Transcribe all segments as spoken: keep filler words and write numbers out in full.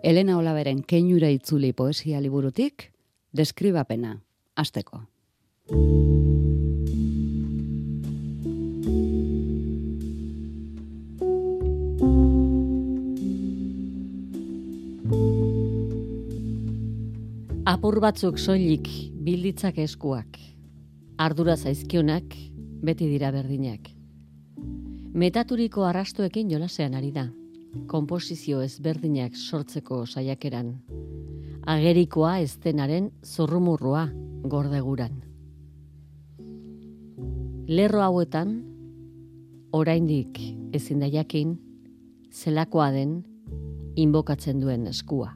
Elena Olaberen Keinura itzuli poesia liburutik, deskribapena, hasteko. Apur batzuk soilik bilditzak eskuak, ardura zaizkionak beti dira berdinak. Metaturiko arrastoekin jolasean ari da, konposizio ezberdinak sortzeko saiakeran. Agerikoa eztenaren zorrumurrua gordeguran. Lerro hauetan, oraindik ezin da jakin, zelakoa den inbokatzen duen eskua.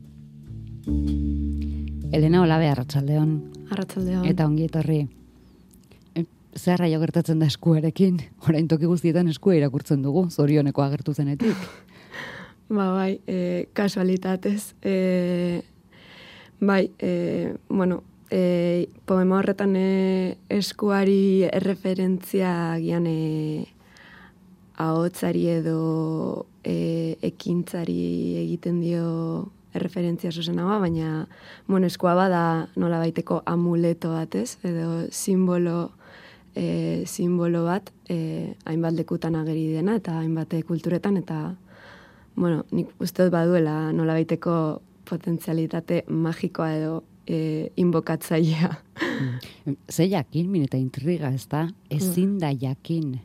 Elena Olabe, arratsaldeon. Arratsaldeon. Eta ongi etorri. Zer raio gertatzen da eskuarekin? Orain toki guztietan eskua irakurtzen dugu, zorioneko agertu zenetik. Ba, bai, e, kasualitatez. E, bai, e, bueno, e, poema horretan e, eskuari erreferentzia gian e, ahotsari edo e, ekintzari egiten dio erreferentzia zuzenagoa, baina bueno, eskua bada nola baiteko amuleto bat, ez? Edo simbolo, e, simbolo bat, e, hainbat lekutan ageri dena, eta hainbat kulturetan, eta bueno, nik uste dut baduela nola baiteko potentzialitate magikoa edo e, inbokatzailea. Ze jakin, min eta intriga, ez da? Ezin da jakin.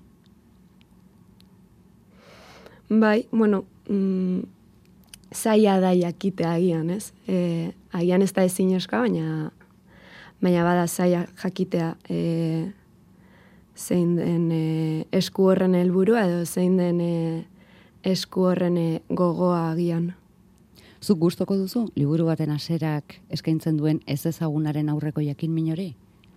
Bai, bueno, mm, zaila da jakitea agian, ez? E, agian ez da ezin eska, baina, baina bada zaila jakitea e, zein den e, esku horren helburua edo zein den e, esku horren e, gogoa agian. Zuk gustoko duzu, liburu baten haserak eskaintzen duen ez ezagunaren aurreko jakin min hori?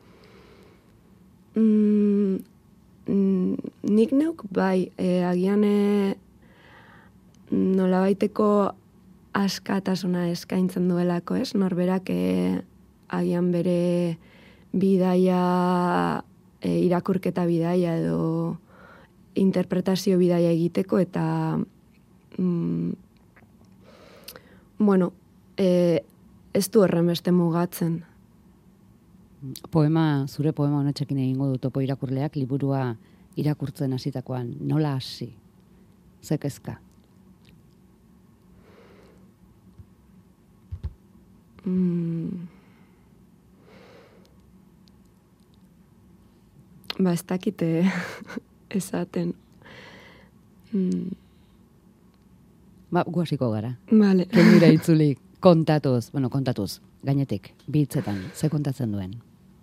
Mm, mm, nik neuk bai, e, agian e, nolabaiteko askatasuna eskaintzen duelako, ez? Norberak e, agian bere bidaia, e, irakurketa bidaia edo interpretazio bidaia egiteko eta mm, bueno, e, ez du horren beste mugatzen. Poema, zure poema honetxekin egingo du topo irakurleak, liburua irakurtzen hasitakoan nola hasi? Zekezka? Mm. Ba, ez dakite esaten. Mm. Ba, guaziko gara. Vale. Keinura itzuli, kontatuz, bueno, kontatuz, gainetik, bitzetan, ze kontatzen duen.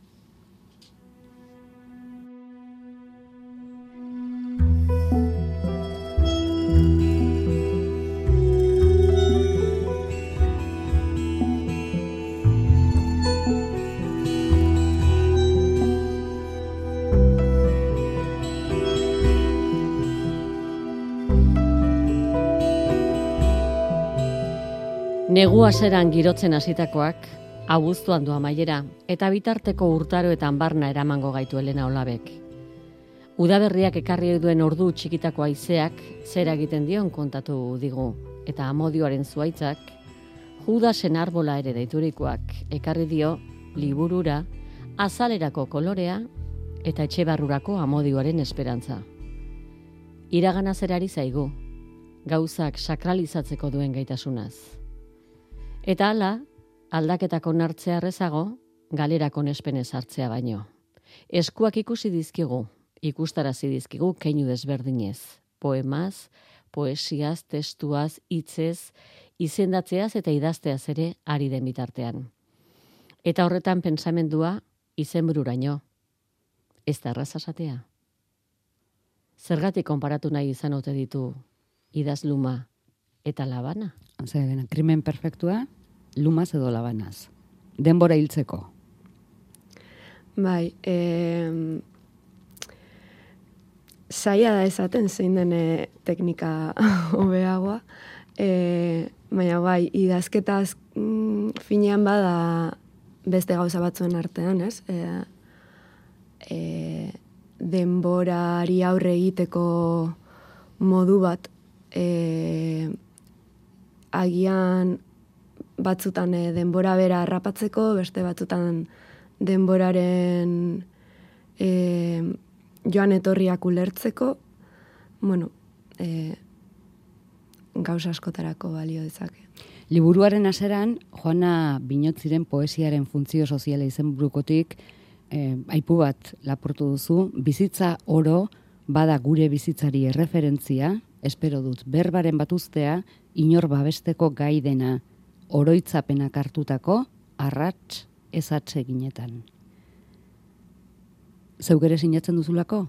Negu haseran girotzen hasitakoak, abuztuan du amaiera, eta bitarteko urtaroetan barna eramango gaitu Elena Olabek. Udaberriak ekarri duen ordu txikitako haizeak zera egiten dion kontatu digu, eta amodioaren zuaitzak, Judasen arbola ere deiturikoak ekarri dio liburura, azalerako kolorea eta etxebarrurako amodioaren esperantza. Iragana zerari zaigu, gauzak sakralizatzeko duen gaitasunaz. Eta hala, aldaketako nartzea errezago, galerako nespenez hartzea baino. Eskuak ikusi dizkigu, ikustarazi dizkigu keinu desberdinez. Poemaz, poesiaz, testuaz, hitzez, izendatzeaz eta idazteaz ere ari den bitartean. Eta horretan pentsamendua izenbururaino. Ez da erraza esatea. Zergatik konparatu nahi izan ote ditu idazluma eta labana? Zer, krimen perfektua, lumaz edo labanaz. Denbora hiltzeko. Bai, eh, zaila da esaten zein den teknika hobeagoa, eh, baina bai, idazketaz mm, finean bada beste gauza batzuen artean, ez? Eh, eh, denborari aurre egiteko modu bat, eh, agian batzutan e, denbora bera harrapatzeko, beste batzutan denboraren e, joan etorriak ulertzeko, bueno, e, gauza askotarako balio dezake. Liburuaren haseran, Joana Binotziren poesiaren funtzio soziala izenburukotik eh, aipu bat lapurtu duzu, bizitza oro bada gure bizitzari erreferentzia, espero dut berbaren batuztea, inor babesteko gai dena, oroitzapenak hartutako, arrats ezatze ginetan. Zeuk ere sinatzen duzulako?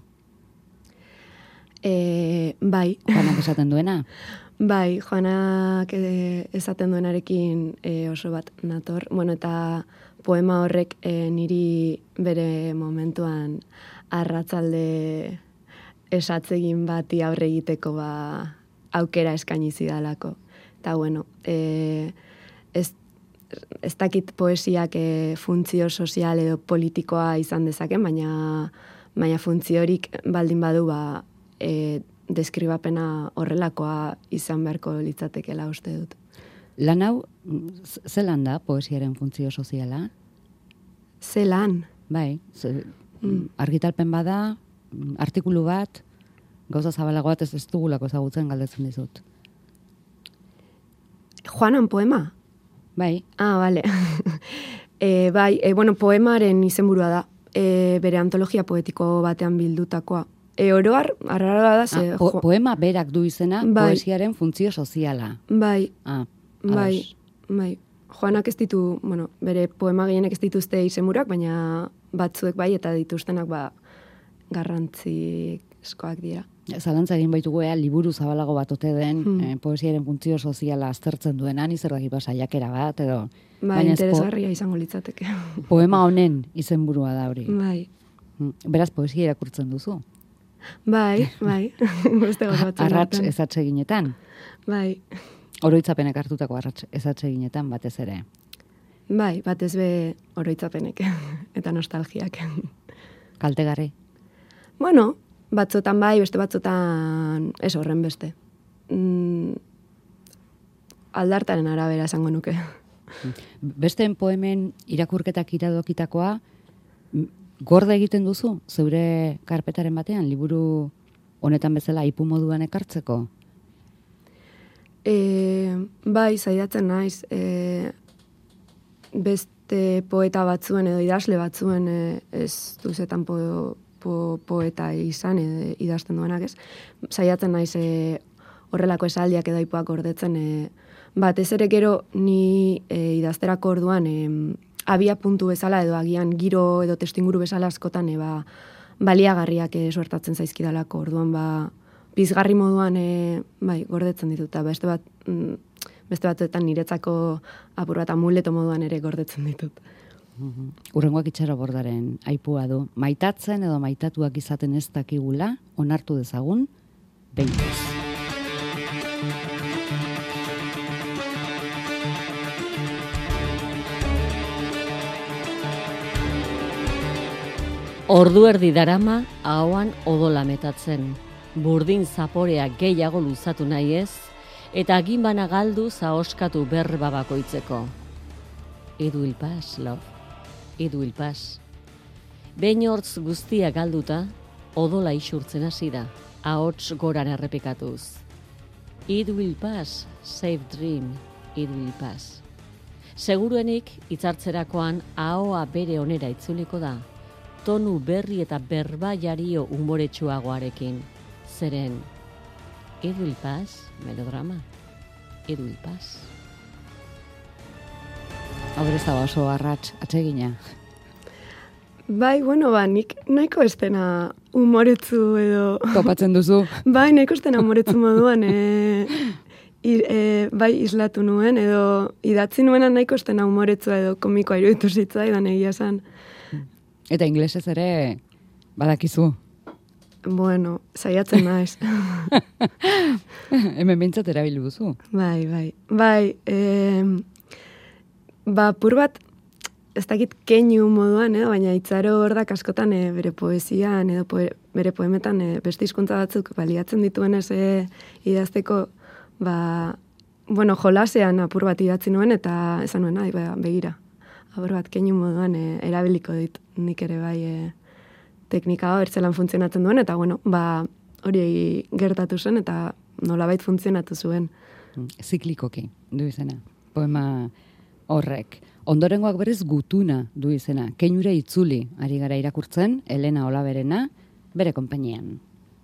E, bai. Joanak esaten duena? Bai, Joanak e, esaten duenarekin e, oso bat nator. Bueno, eta poema horrek e, niri bere momentuan arratzalde esatzegin bati aurre egiteko ba, aukera eskaini zidalako. Eta bueno, e, ez, ez dakit poesiak e, funtzio sozial edo politikoa izan dezaken, baina, baina funtziorik baldin badu ba, e, deskribapena horrelakoa izan beharko litzatekela uste dut. Lan hau, zelan da poesiaren funtzio soziala? Zelan? Bai, ze, mm. argitalpen bada, artikulu bat, gauza zabalago bat ez ez dugulako ezagutzen galdetzen dizut. Joanan poema? Bai. Ah, bale. e, bai, e, bueno, poemaren izenburua da, e, bere antologia poetiko batean bildutakoa. E, oroar, arrara da, ze... Ah, po, poema berak du izena, bai. Poesiaren funtzio soziala. Bai, ah, bai, bai. Joanak ez ditu, bueno, bere poema gehienek ez dituzte izenburuak, baina batzuek bai, eta dituztenak ba, garrantzizkoak dira. Zalantza egin baitugu ea, liburu zabalago bat ote den, hmm. eh, poesiaren funtzio soziala aztertzen duena, zer daki saiakera bat, edo... Bai, interesgarria po izango litzateke. Poema honen izenburua da hori. Bai. Beraz, poesia irakurtzen duzu? Bai, bai. Arrats ezatze ginetan? Bai. Oroitzapenek hartutako arrats ezatze ginetan batez ere? Bai, batez be oroitzapenek eta nostalgiak. Kaltegarri? Bueno, batzotan bai, beste batzotan ez horren beste. Mm, aldartaren arabera esango nuke. Besteen poemen irakurketak iradokitakoa, gorde egiten duzu, zeure karpetaren batean, liburu honetan bezala ipu moduan ekartzeko? E, bai, zaidatzen naiz, e, beste poeta batzuen edo idazle batzuen e, ez duzetan po, po, poeta izan edo idazten duenak ez. Zaidatzen naiz e, horrelako esaldiak edo ipuak gordetzen, e, batez ere gero ni e, idazterako orduan e, abia puntu bezala edo agian giro edo testinguru bezala askotan e, ba, baliagarriak e, suertatzen zaizkidalako orduan ba, pizgarri moduan e, bai, gordetzen ditut, eta beste bat mm, beste batzuetan niretzako apur bat amuleto moduan ere gordetzen ditut. Uhum. Urrengoak itxaro bordaren aipua du. Maitatzen edo maitatuak izaten ez dakigula, onartu dezagun, behingoz. Ordu erdi darama ahoan odola metatzen, burdin zaporea gehiago luzatu nahi ez, eta aginbana galdu zaoskatu berba bakoitzeko. Edu ilpas, love, edu ilpas. Behin hortz guztia galduta, odola isurtzen hasi da, ahots goran errepikatuz. Edu ilpas, safe dream, edu ilpas. Seguruenik, hitzartzerakoan ahoa bere onera itzuliko da, tonu berri eta berba jario umoretsuagoarekin. Zeren, edu ilpas, melodrama, edu ilpas. Hau ez da oso arrats atsegina. Bai, bueno, ba, nik nahiko estena umoretzu edo... Topatzen duzu. Bai, nahiko estena umoretzu moduan, e, i, e, bai, islatu nuen, edo idatzi nuena nahiko estena umoretzu edo komikoa iruditu zitzaidan egia esan. Eta inglesez ere badakizu. Bueno, saiatzen naiz. Hemen bintzat erabili duzu. Bai, bai. Bai, e, ba, pur bat, ez dakit keinu moduan, eh? Baina Itzaro Ordak askotan e, bere poesian edo poe, bere poemetan e, beste hizkuntza batzuk baliatzen dituenez e, idazteko, ba, bueno, jolasean apur bat idatzi nuen, eta esan nuen, nahi, begira, apur bat keinu moduan e, erabiliko dit nik ere bai e, teknika bertzelan funtzionatzen duen, eta bueno, ba, hori gertatu zen, eta nolabait funtzionatu zuen. Ziklikoki du izena, poema horrek. Ondorengoak berriz gutuna du izena, keinura itzuli ari gara irakurtzen, Elena Olaberena, bere konpainian.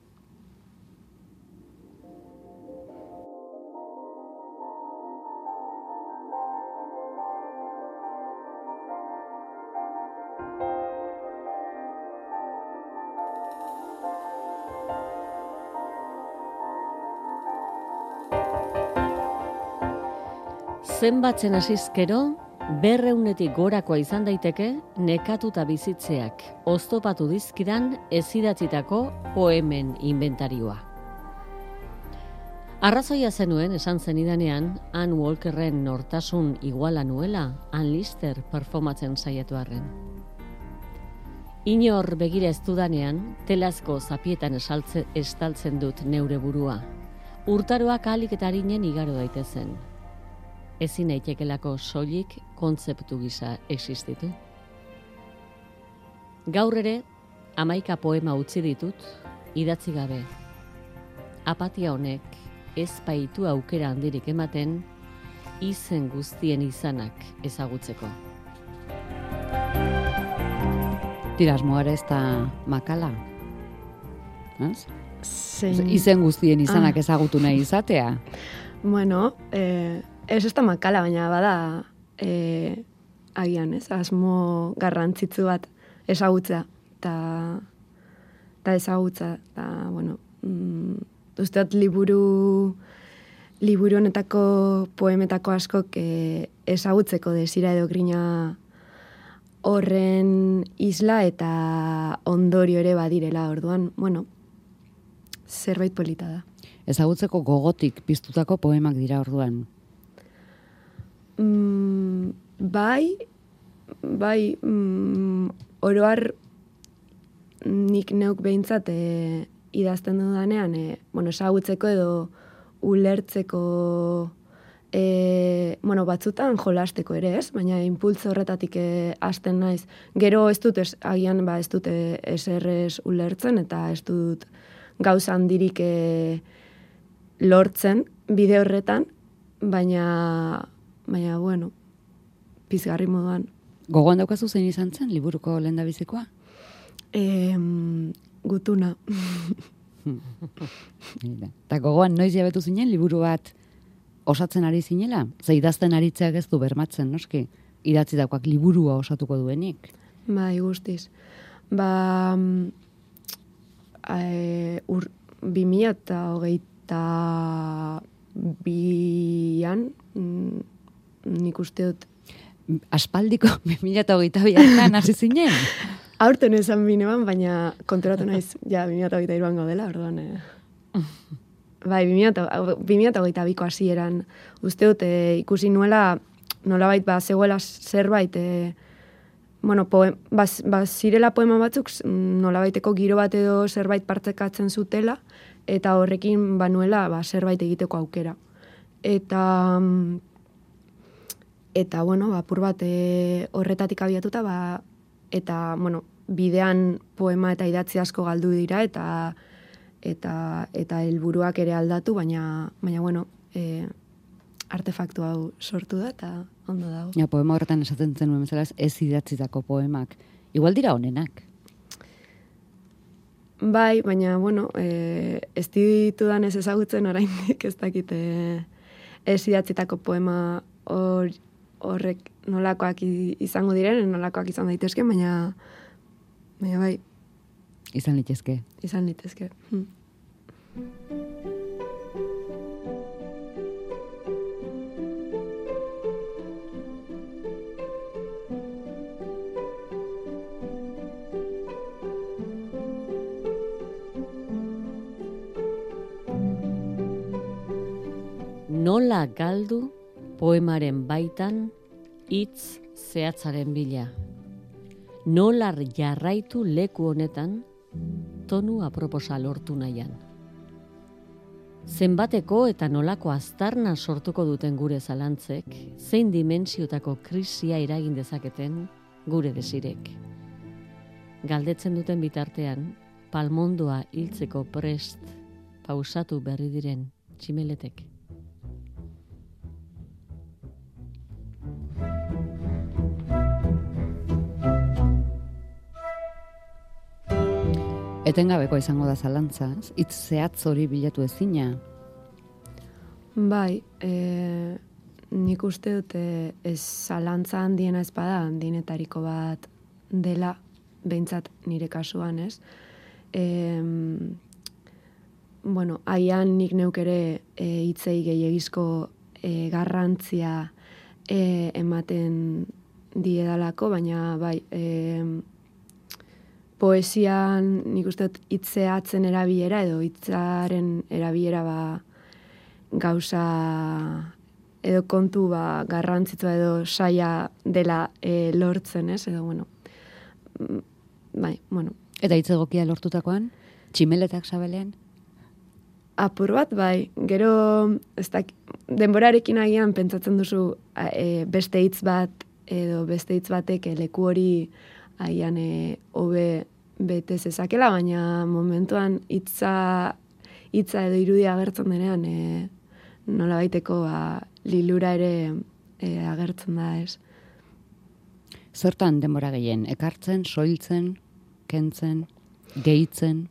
Zenbatzen hasizkero, berreunetik gorakoa izan daiteke nekatuta bizitzeak oztopatu dizkidan ezidatzitako poemen inventarioa. Arrazoia zenuen esan zenidanean, Anne Walkerren nortasun iguala nuela, Anne Lister performatzen saiatu arren. Inor begira ez dudanean, telazko zapietan esaltze, estaltzen dut neure burua. Urtaroak ahalik eta harinen igaro daitezen. Ezin daitekelako soilik kontzeptu gisa existitu. Gaur ere, hamaika poema utzi ditut, idatzi gabe. Apatia honek ez baitu aukera handirik ematen, izen guztien izanak ezagutzeko. Tiras moare ez da makala? Zein... Izen guztien izanak ah. ezagutu nahi izatea? Bueno, eh... ez ez da makala, baina bada e, agian, ez, asmo garrantzitsu bat ezagutza, eta ezagutza, eta, bueno, mm, usteot liburu, liburu honetako poemetako askok e, ezagutzeko desira edo grina horren isla eta ondorio ere badirela, orduan, bueno, zerbait polita da. Ezagutzeko gogotik piztutako poemak dira orduan. Mm, bai, bai, mm, oroar nik neuk behintzat e, idazten dudanean, e, bueno, esagutzeko edo ulertzeko, e, bueno, batzutan jolasteko ere ez, baina impultzo horretatik e, hasten naiz. Gero ez dut, ez, agian ba, ez dut e, eserrez ulertzen, eta ez dut gauza handirik e, lortzen bide horretan, baina... Baina, bueno, pizgarri moduan. Gogoan daukazu zein izan zen, liburuko lehendabizikoa? E, gutuna. Eta gogoan noiz jabetu zinen, liburu bat osatzen ari zinela? Ze idazten aritzeak ez du bermatzen, noski? Idatzi daukoak liburua osatuko duenik? Bai, guztiz. Ba, e, ur, bimila eta hogeita bian, nik uste dut. Aspaldiko bimila eta hogeita bian hasi zinen? Aurten esan binean, baina konturatu naiz, ja, bimila eta hogeita iruan gaudela, orduan. Eh. Bai, bimila eta hogeita biko hasieran uste dut, eh, ikusi nuela, nolabait, ba, zegoela zerbait, eh, bueno, poem, ba, ba, zirela poema batzuk, nolabaiteko giro bat edo zerbait partzekatzen zutela, eta horrekin, ba, nuela, ba, zerbait egiteko aukera. Eta... Eta, bueno, apur bat e, horretatik abiatuta, ba, eta, bueno, bidean poema eta idatzi asko galdu dira, eta eta eta helburuak ere aldatu, baina, baina bueno, e, artefaktu hau sortu da, eta ondo dago. Ja, poema horretan esaten zenuen bezala ez idatzitako poemak. Igual dira honenak. Bai, baina, bueno, e, ez ditudan ez ezagutzen oraindik ez dakite ez idatzitako poema hor horrek nolakoak izango diren, nolakoak izan daitezke, baina, baina bai. Izan litezke. Izan litezke. Hmm. Nola galdu poemaren baitan hitz zehatzaren bila. Nola jarraitu leku honetan tonu aproposa lortu nahian. zenbateko eta nolako aztarna sortuko duten gure zalantzek, zein dimentsiotako krisia eragin dezaketen gure desirek. Galdetzen duten bitartean, palmondoa hiltzeko prest pausatu berri diren tximeletek. Etengabeko izango da zalantza, hitz zehatz hori bilatu ezina. Bai, e, nik uste dute ez zalantza handiena ez bada, handienetariko bat dela, behintzat nire kasuan, ez? E, bueno, aian nik neuk ere e, hitzei gehiagizko e, garrantzia e, ematen diedalako, baina bai, e, poesian nik uste dut hitzeatzen erabilera edo hitzaren erabilera ba gauza edo kontu ba garrantzitsua edo saia dela e, lortzen, ez? Edo bueno. Bai, bueno. Eta hitz egokia lortutakoan, tximeletak sabelean? Apur bat, bai. Gero, ez da, denborarekin agian pentsatzen duzu e, beste hitz bat edo beste hitz batek leku hori agian hobe bete zezakela, baina momentuan hitza hitza edo irudia agertzen denean e, nola baiteko ba, lilura ere e, agertzen da, ez. Zertan denbora gehien? Ekartzen, soiltzen, kentzen, gehitzen?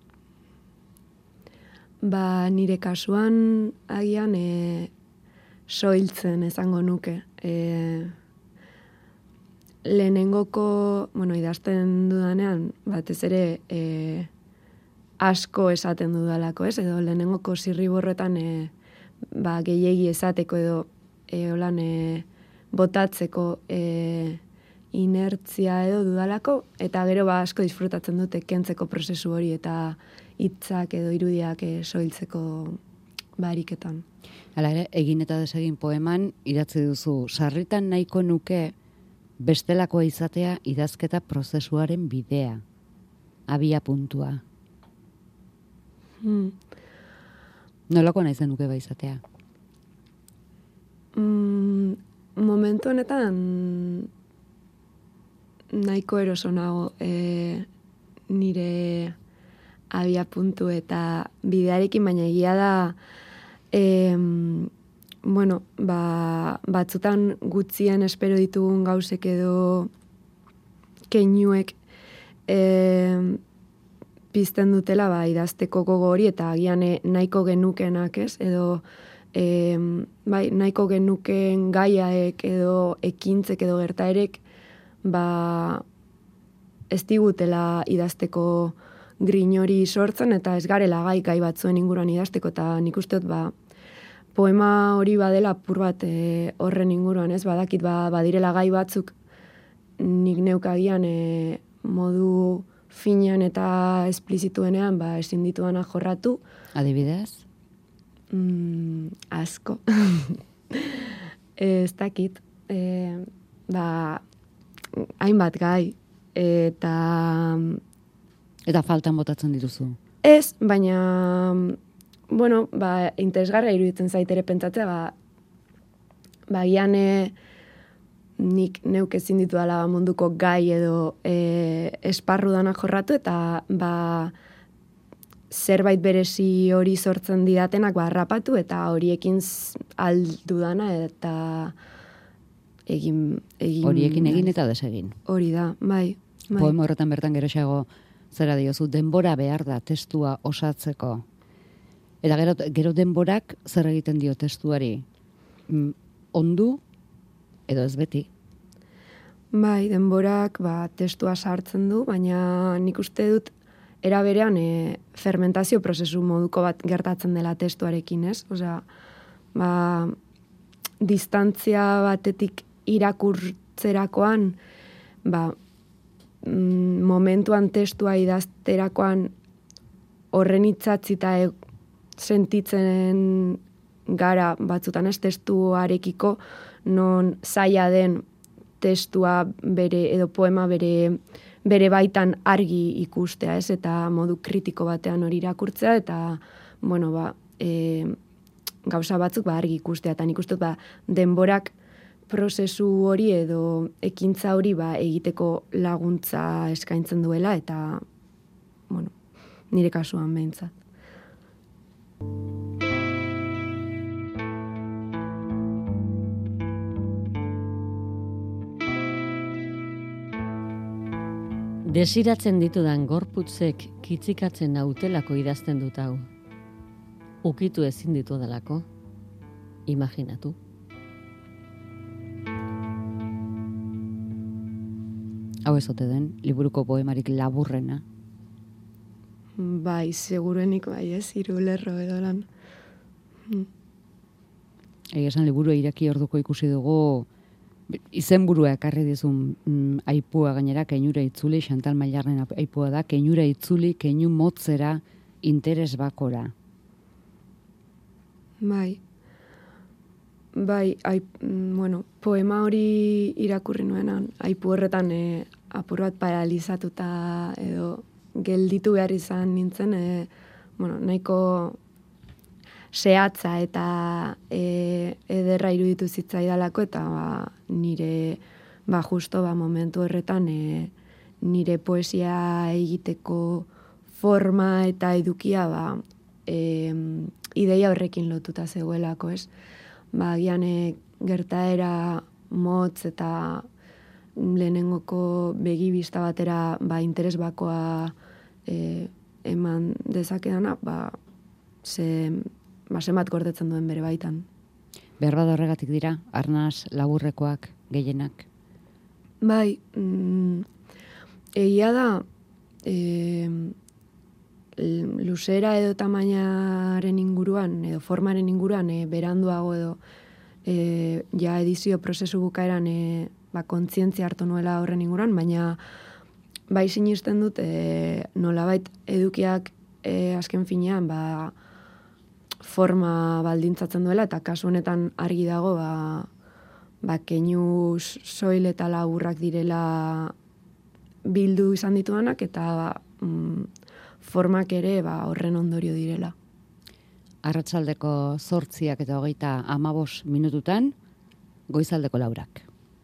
Ba, nire kasuan agian e, soiltzen esango nuke. E, lehenengoko, bueno, idazten dudanean, batez ere e, asko esaten dudalako, ez? Edo lehenengoko zirriborretan e, ba, gehiegi esateko edo e, holan e, botatzeko e, inertzia edo dudalako, eta gero ba, asko disfrutatzen dute kentzeko prozesu hori eta hitzak edo irudiak e, soiltzeko bariketan. Hala ere, egin eta desegin poeman idatzi duzu, sarritan nahiko nuke bestelakoa izatea idazketa prozesuaren bidea, abia puntua. Hmm. Nolako nahi zenuke ba izatea? Mm, momentu honetan nahiko eroso nago e, nire abia puntu eta bidearekin, baina egia da e, bueno, ba, batzutan gutzien espero ditugun gauzek edo keinuek e, pizten dutela ba, idazteko gogo hori eta agian nahiko genukenak, ez? Edo e, bai, nahiko genuken gaiaek edo ekintzek edo gertaerek ba, ez digutela idazteko grin hori sortzen eta ez garela gai gai batzuen inguruan idazteko eta nik uste dut ba, poema hori badela apur bat e, horren inguruan, ez? Badakit ba, badirela gai batzuk nik neukagian e, modu finean eta esplizituenean ba, ezin dituana jorratu. Adibidez? Mm, asko. Ez dakit. E, ba, hainbat gai. Eta... Eta faltan botatzen dituzu? Ez, baina... Bueno, ba, interesgarra iruditzen zaitere pentsatzea, ba, ba, gian e, nik neuk ezin ditu dela munduko gai edo e, esparru danak jorratu, eta ba, zerbait berezi hori sortzen didatenak ba, harrapatu, eta horiekin aldu dana, eta egin... egin horiekin egin eta desegin. Hori da, bai. bai. Poema horretan bertan geroxeago zera diozu, denbora behar da testua osatzeko. Eta gero, gero denborak zer egiten dio testuari? Mm, ondu edo ez beti? Bai, denborak ba, testua sartzen du, baina nik uste dut era berean e, fermentazio prozesu moduko bat gertatzen dela testuarekin, ez? Osea, ba, distantzia batetik irakurtzerakoan, ba, mm, momentuan testua idazterakoan horren itzatzita e, sentitzen gara batzutan ez testuarekiko non zaila den testua bere edo poema bere, bere baitan argi ikustea, ez? Eta modu kritiko batean hori irakurtzea eta bueno, ba, e, gauza batzuk ba, argi ikustea, eta nik uste ba, denborak prozesu hori edo ekintza hori ba, egiteko laguntza eskaintzen duela, eta bueno, nire kasuan behintzat. Desiratzen ditudan gorputzek kitzikatzen nautelako idazten dut hau. Ukitu ezin ditu delako. Imaginatu. Hau ez ote den, liburuko poemarik laburrena. Bai, seguruenik bai, ez, hiru lerro edo lan. Hmm. Egia esan liburu iraki orduko ikusi dugu, izenburua ekarri dizun mm, aipua gainera, keinura itzuli, Chantal Mailarren aipua da, keinura itzuli, keinu motzera, interes bakora. Bai. Bai, aip, bueno, poema hori irakurri nuenan, aipu horretan e, apur bat paralizatuta edo gelditu behar izan nintzen, e, bueno, nahiko zehatza eta e, ederra iruditu zitzaidalako, eta ba, nire ba, justo ba, momentu horretan e, nire poesia egiteko forma eta edukia ba, e, ideia horrekin lotuta zegoelako, ez? Ba, gian e, gertaera motz eta lehenengoko begibista batera ba, interes bakoa e, eman dezakedana, ba, ze, ba, zenbat gordetzen duen bere baitan. Behar bada horregatik dira, arnaz laburrekoak, gehienak? Bai, mm, egia da, e, luzera edo tamainaren inguruan, edo formaren inguruan, e, beranduago edo e, ja edizio prozesu bukaeran e, ba, kontzientzia hartu nuela horren inguruan, baina bai sinisten dut e, nolabait edukiak e, azken finean ba, forma baldintzatzen duela, eta kasu honetan argi dago ba, ba, keinu soil eta laburrak direla bildu izan ditudanak, eta ba, mm, formak ere ba, horren ondorio direla. Arratsaldeko zortziak eta hogeita amabos minututan, goizaldeko laurak.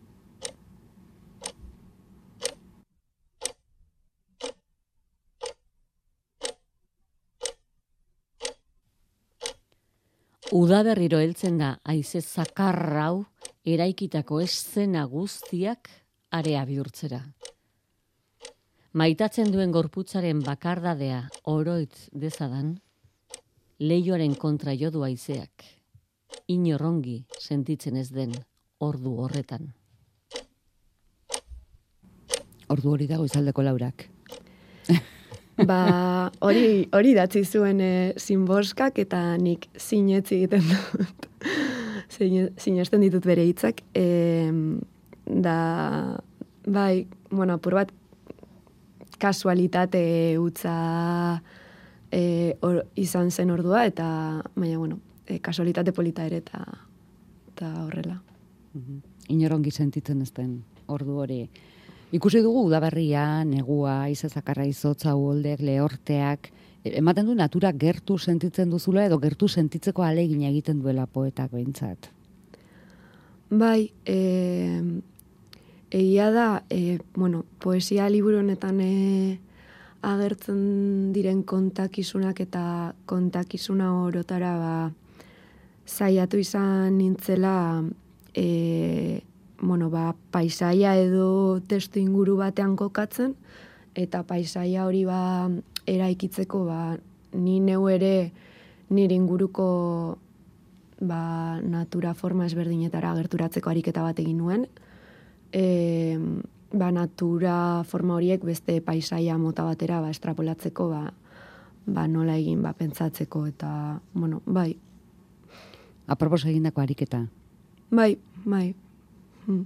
Udaberriro heltzen da haize zakarra hau eraikitako eszena guztiak area bihurtzera. Maitatzen duen gorputzaren bakardadea oroitz dezadan, leioaren kontra jodu haizeak, inorrongi sentitzen ez den ordu horretan. Ordu hori da goizaldeko laurak. Ba, hori hori datzi zuen e, Zinboskak, eta nik sinetzi egiten dut. Sinesten ditut bere hitzak. E, da, bai, bueno, apur bat kasualitate utza e, or, izan zen ordua, eta, baina, bueno, e, kasualitate polita ere, eta, eta horrela. Mm-hmm. Inorongi sentitzen ez den ordu hori. Ikusi dugu udaberria, negua, izazakarra izotza, uholdek, lehorteak, ematen du natura gertu sentitzen duzula edo gertu sentitzeko ahalegina egiten duela poetak behintzat. Bai, e, egia da, e, bueno, poesia liburu honetan e, agertzen diren kontakizunak eta kontakizuna orotara ba, saiatu izan nintzela e, bueno, ba, paisaia edo testu inguru batean kokatzen, eta paisaia hori ba, eraikitzeko ba, ni neu ere nire inguruko ba, natura forma ezberdinetara gerturatzeko ariketa bat egin nuen. E, ba, natura forma horiek beste paisaia mota batera ba, estrapolatzeko ba, ba, nola egin ba, pentsatzeko, eta, bueno, bai. Apropos egindako ariketa? Bai, bai. Hmm.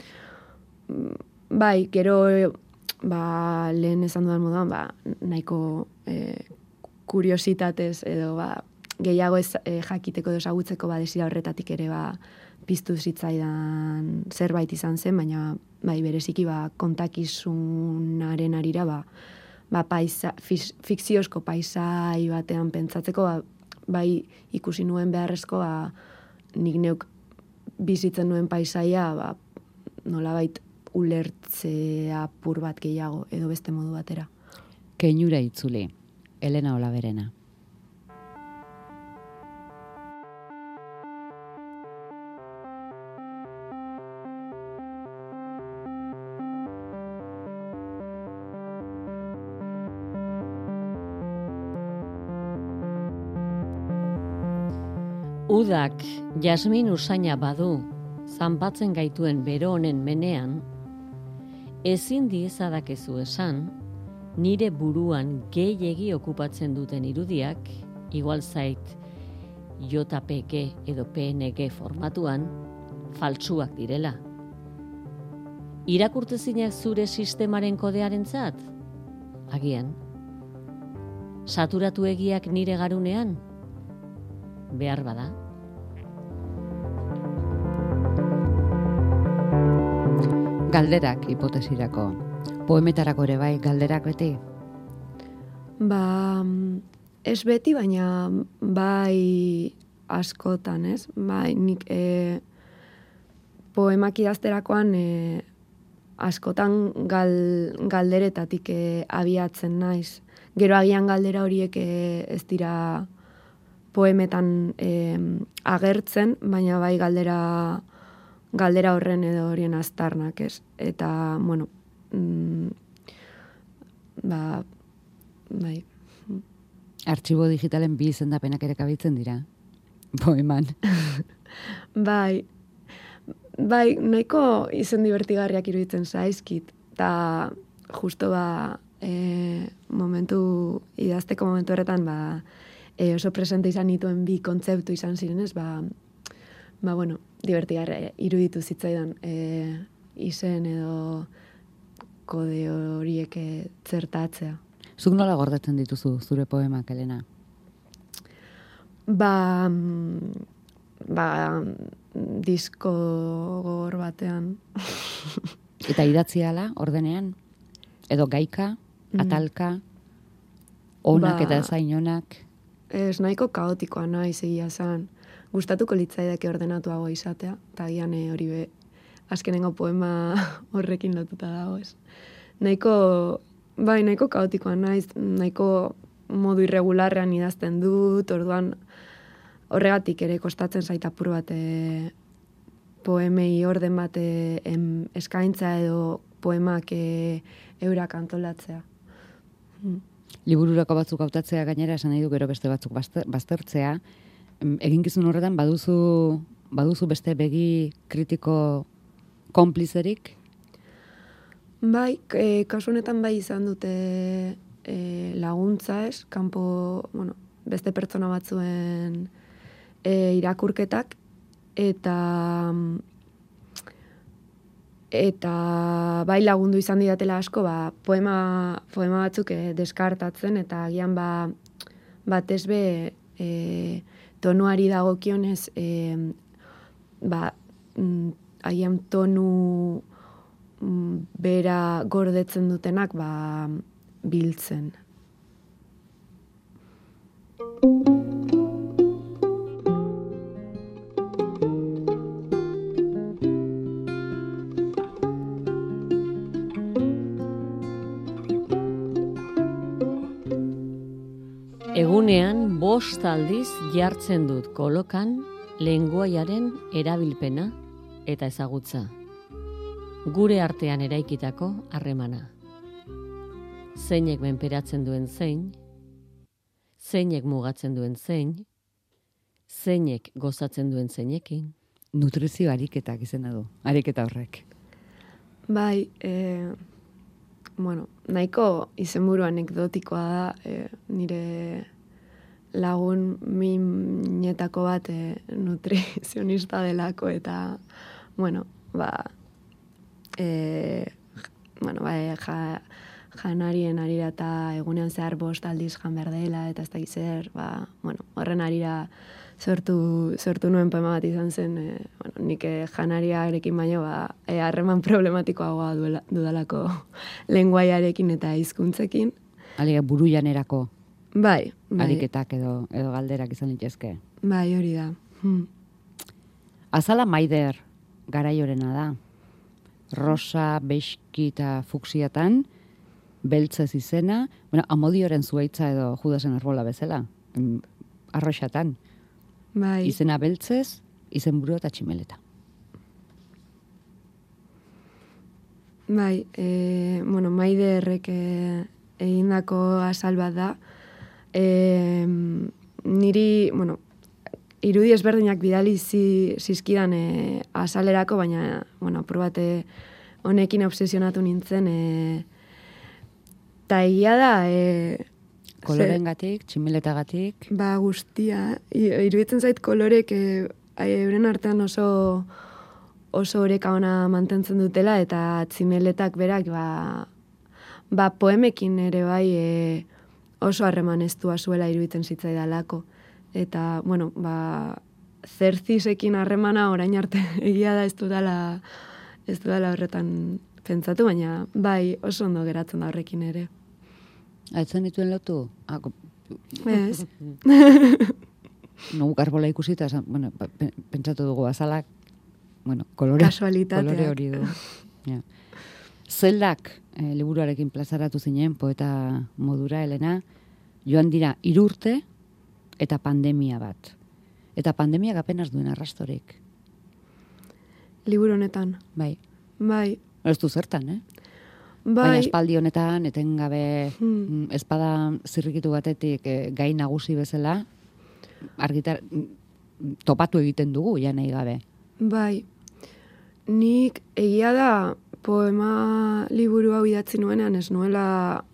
Bai, gero ba, lehen esan dudan moduan, ba, nahiko e, kuriositatez edo ba, gehiago ez, e, jakiteko edo ezagutzeko ba, desira horretatik ere ba, piztu zitzaidan zerbait izan zen, baina bai, bereziki ba, kontakizunaren arira ba, ba, paisa, fikziozko paisai batean pentsatzeko ba, bai ikusi nuen beharrezkoa nik neuk bizitzen nuen paisaia, ba, nolabait ulertzea apur bat gehiago, edo beste modu batera. Keinura itzuli, Elena Olaberena. Udak jasmin usaina badu, zanpatzen gaituen bero honen menean, ezin diezadakezu esan, nire buruan gehiegi okupatzen duten irudiak, igual zait J P G edo P N G formatuan, faltsuak direla. Irakurtezinak zure sistemaren kodearentzat? Agian. Saturatu egiak nire garunean? Behar bada. Galderak hipotesirako. Poemetarako ere bai, galderak beti? Ba, ez beti, baina bai askotan, ez? Bai, nik e, poemak idazterakoan e, askotan gal, galderetatik e, abiatzen naiz. Gero agian galdera horiek e, ez dira poemetan e, agertzen, baina bai galdera galdera horren edo horien aztarnak, ez? Eta, bueno, mm, ba, bai. Artxibo digitalen bi izendapenak ere kabitzen dira, poeman. Bai, bai, nahiko izen divertigarriak iruditzen zaizkit, eta justo ba, e, momentu, idazteko momentu horretan, ba, e, oso presente izan nituen bi kontzeptu izan zirenez, ba, ba, bueno, divertigarra iruditu zitzaidan e, izen edo kode horiek zertatzea. Zuk nola gordetzen dituzu zure poemak, Elena? Ba, ba, disko gogor batean. Eta idatzi ala, ordenean? Edo gaika, atalka, onak ba, eta zainonak? Ez nahiko kaotikoa naiz egia zan. Gustatuko litzaidake ordenatuago izatea, eta gian hori be, azkenengo poema horrekin lotuta dago, ez. Nahiko, bai, nahiko kaotikoa naiz, nahiko modu irregularrean idazten dut, orduan horregatik ere kostatzen zait apur bat e, poemei orden bat e, em, eskaintza edo poemak e, eurak antolatzea. Hmm. Libururako batzuk hautatzea gainera esan nahi du gero beste batzuk baztertzea. Eginkizun horretan baduzu, baduzu beste begi kritiko konplizerik? Bai, e, kasu honetan bai izan dute e, laguntza, ez? Kanpo, bueno, beste pertsona batzuen e, irakurketak, eta eta bai lagundu izan didatela asko, ba, poema, poema batzuk e, deskartatzen, eta agian ba, batez be e, tonuari dagokionez, e, ba, agian tonu bera gordetzen dutenak ba, biltzen. Egunean bost aldiz jartzen dut kolokan lengoaiaren erabilpena eta ezagutza. Gure artean eraikitako harremana. Zeinek menperatzen duen zein, zeinek mugatzen duen zein, zeinek gozatzen duen zeinekin. Nutrizio ariketak izena du, ariketa horrek. Bai, e, bueno, nahiko izenburu anekdotikoa da, e, nire lagun minetako bat e, nutrizionista delako, eta, bueno, ba, e, bueno, ba, e, ja, janarien arira eta egunean zehar bost aldiz jan behar dela, eta ez da gizer, ba, bueno, horren arira sortu, sortu nuen poema bat izan zen, e, bueno, nik e, janariarekin baino, ba, e, harreman problematikoagoa duela, dudalako lenguaiarekin eta hizkuntzekin. Alega buru janerako. Bai, bai. Ariketak edo, edo galderak izan litezke. Bai, hori da. Hmm. Azala Maider garaiorena da. Rosa, bexki eta fuksiatan, beltzez izena, bueno, Amodioren zuaitza edo Judasen arbola bezala, mm, arroxatan. Bai. Izena beltzez, izenburu eta tximeleta. Bai, e, bueno, Maiderrek e, egindako azal bat da. E, niri, bueno, irudi ezberdinak bidali zi, zizkidan e, azalerako, baina, bueno, probate honekin obsesionatu nintzen. E, ta egia da... E, Kolorengatik, tximeletagatik. Ba, guztia. Iruditzen zait kolorek e, euren artean oso oso oreka ona mantentzen dutela, eta tximeletak berak ba, ba poemekin ere bai e, oso harreman estua zuela iruditzen zitzaidalako. Eta, bueno, ba, zerzisekin harremana orain arte egia da ez dudala, ez dudala horretan pentsatu, baina bai oso ondo geratzen da horrekin ere. Aitzen dituen lotu? Ah, Ez. No, garbola ikusita, bueno, pentsatu dugu azalak, bueno, kolore, kolore hori du. Ja. Zeldak, eh, liburuarekin plazaratu zinen, poeta modura, Elena, joan dira irurte eta pandemia bat. Eta pandemiak apenas duen arrastorik. Liburu honetan. Bai. Bai. Ez du zertan, eh? Bai. Baina espaldi honetan, etengabe hmm. espada zirrikitu batetik eh, gai nagusi bezala, argitar, topatu egiten dugu, ja nahi gabe. Bai. Nik egia da poema liburu hau idatzi nuenean ez nuela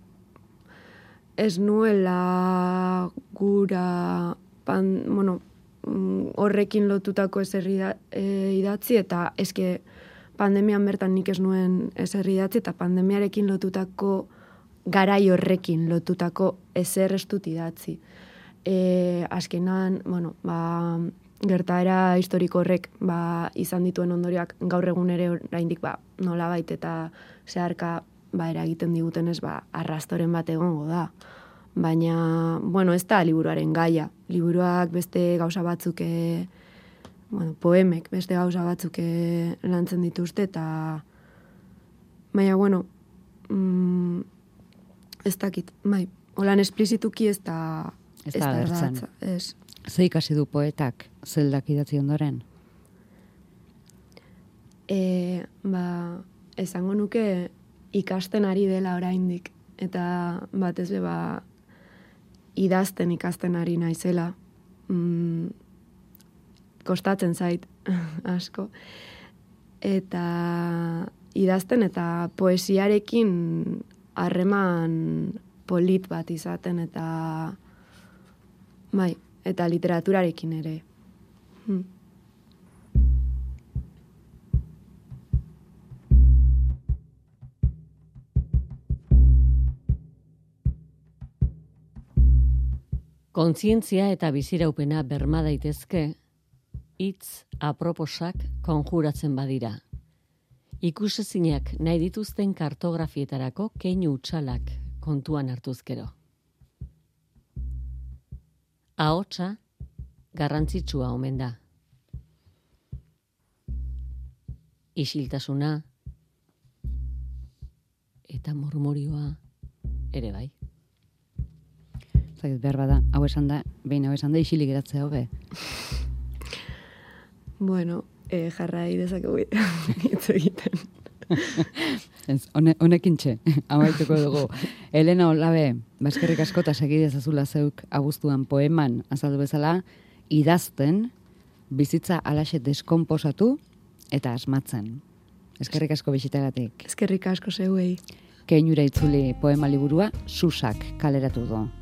ez nuela gura pan, bueno, horrekin lotutako ezer idatzi, eta eske pandemian bertan nik ez nuen ezer idatzi, eta pandemiarekin lotutako garai horrekin lotutako ezer ez dut idatzi. E, azkenan, bueno, ba, gertaera historiko horrek ba, izan dituen ondorioak gaur egun ere oraindik ba, nolabait eta zeharka ba, eragiten digutenez ba, arrastoren bat egongo da. Baina, bueno, ez da liburuaren gaia. Liburuak beste gauza batzuk, e, bueno, poemek beste gauza batzuk e, lantzen dituzte, eta baina, bueno, mm, ez dakit, bai, holan esplizituki ez da ez da agertzen. Ez. Ze ikasi du poetak zeldak idatzi ondoren? E, ba, esango nuke ikasten ari dela oraindik, eta batez be ba idazten ikasten ari naizela. Mm, kostatzen zait asko. Eta idazten eta poesiarekin harreman polit bat izaten, eta bai, eta literaturarekin ere. Hmm. Kontzientzia eta biziraupena berma daitezke, hitz aproposak konjuratzen badira. Ikusezinak nahi dituzten kartografietarako keinu utxalak kontuan hartuzkero. Ahotsa garrantzitsua omen da. Isiltasuna eta murmurioa ere bai. Zagit behar bada, hau esan da, behin hau esan da, isilik geratzea hobe. Bueno, eh, jarrai dezakegu hitz egiten. Honekin txe, amaituko dugu. Elena Olabe, baskerrik asko eta segidez azula zeuk abuztuan poeman azaldu bezala, idazten, bizitza alaxe deskomposatu eta asmatzen. Eskerrik asko bisitagatik. Eskerrik asko zeuei. Keinura itzuli poema liburua Susak kaleratu du.